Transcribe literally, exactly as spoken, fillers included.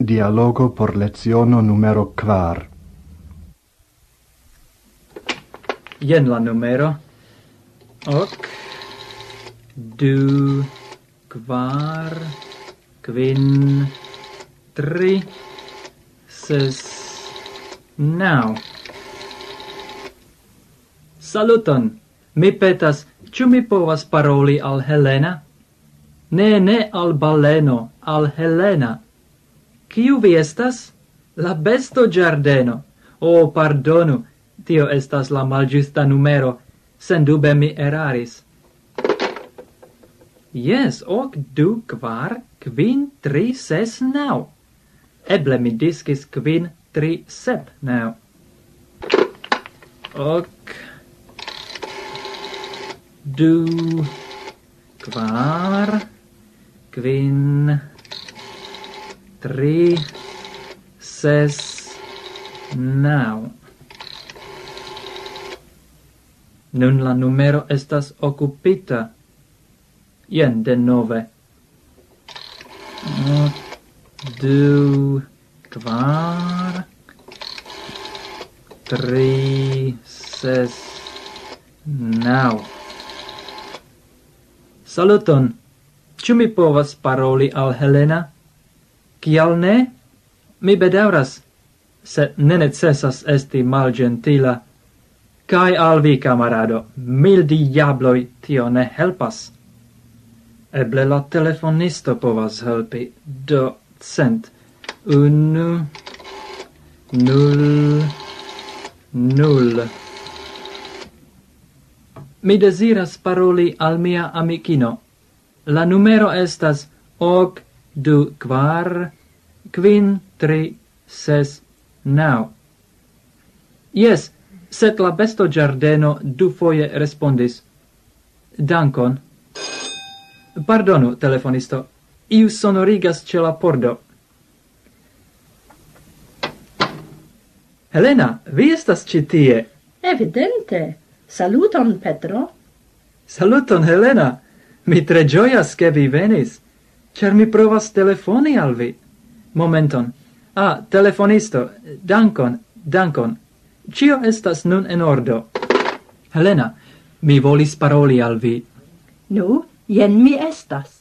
Dialogo por leziono numero kvar. Jen la numero. Ok. Du, kvar, kvin, tri, ses, nau. Saluton! Mi petas, ĉu mi povas paroli al Helena? Ne, ne al baleno, al Helena. Kiu vi estas? La besto Giardeno. Oh, pardonu, tio estas la malĝusta numero. Sendube mi eraris. Yes, ok, du, kvar, kvin, tri, ses, nau. Eble mi diskis kvin, tri, sep, nau. Ok. Du, kvar, kvin, tri, ses, nau. Nun la numero estas okupita. Jen de nove. Du, kvar, tri, ses, nau. Saluton! Ĉu mi povas paroli al Helena? Kial ne? Mi bedaŭras, sed ne necesas esti malĝentila. Kaj al vi, kamarado, mil diabloj, tio ne helpas. Eble la telefonisto povas helpi. Do, cent. Unu, nul, nul. Mi desiras paroli al mia amikino. La numero estas ok, du, kvar, kvin, tri, ses, nau. Yes, sed la besto Giardeno dufoje respondis. Dankon. Pardonu, telefonisto. Iu sonorigas ĉe la pordo. Helena, vi estas ĉi tie. Evidente. Saluton, Petro. Saluton, Helena. Mi tre ĝojas, ke vi venis, ĉar mi provas telefoni al vi. Momenton. Ah, telefonisto. Dankon, dankon. Ĉio estas nun en ordo. Helena, mi volis paroli al vi. Nu, jen mi estas.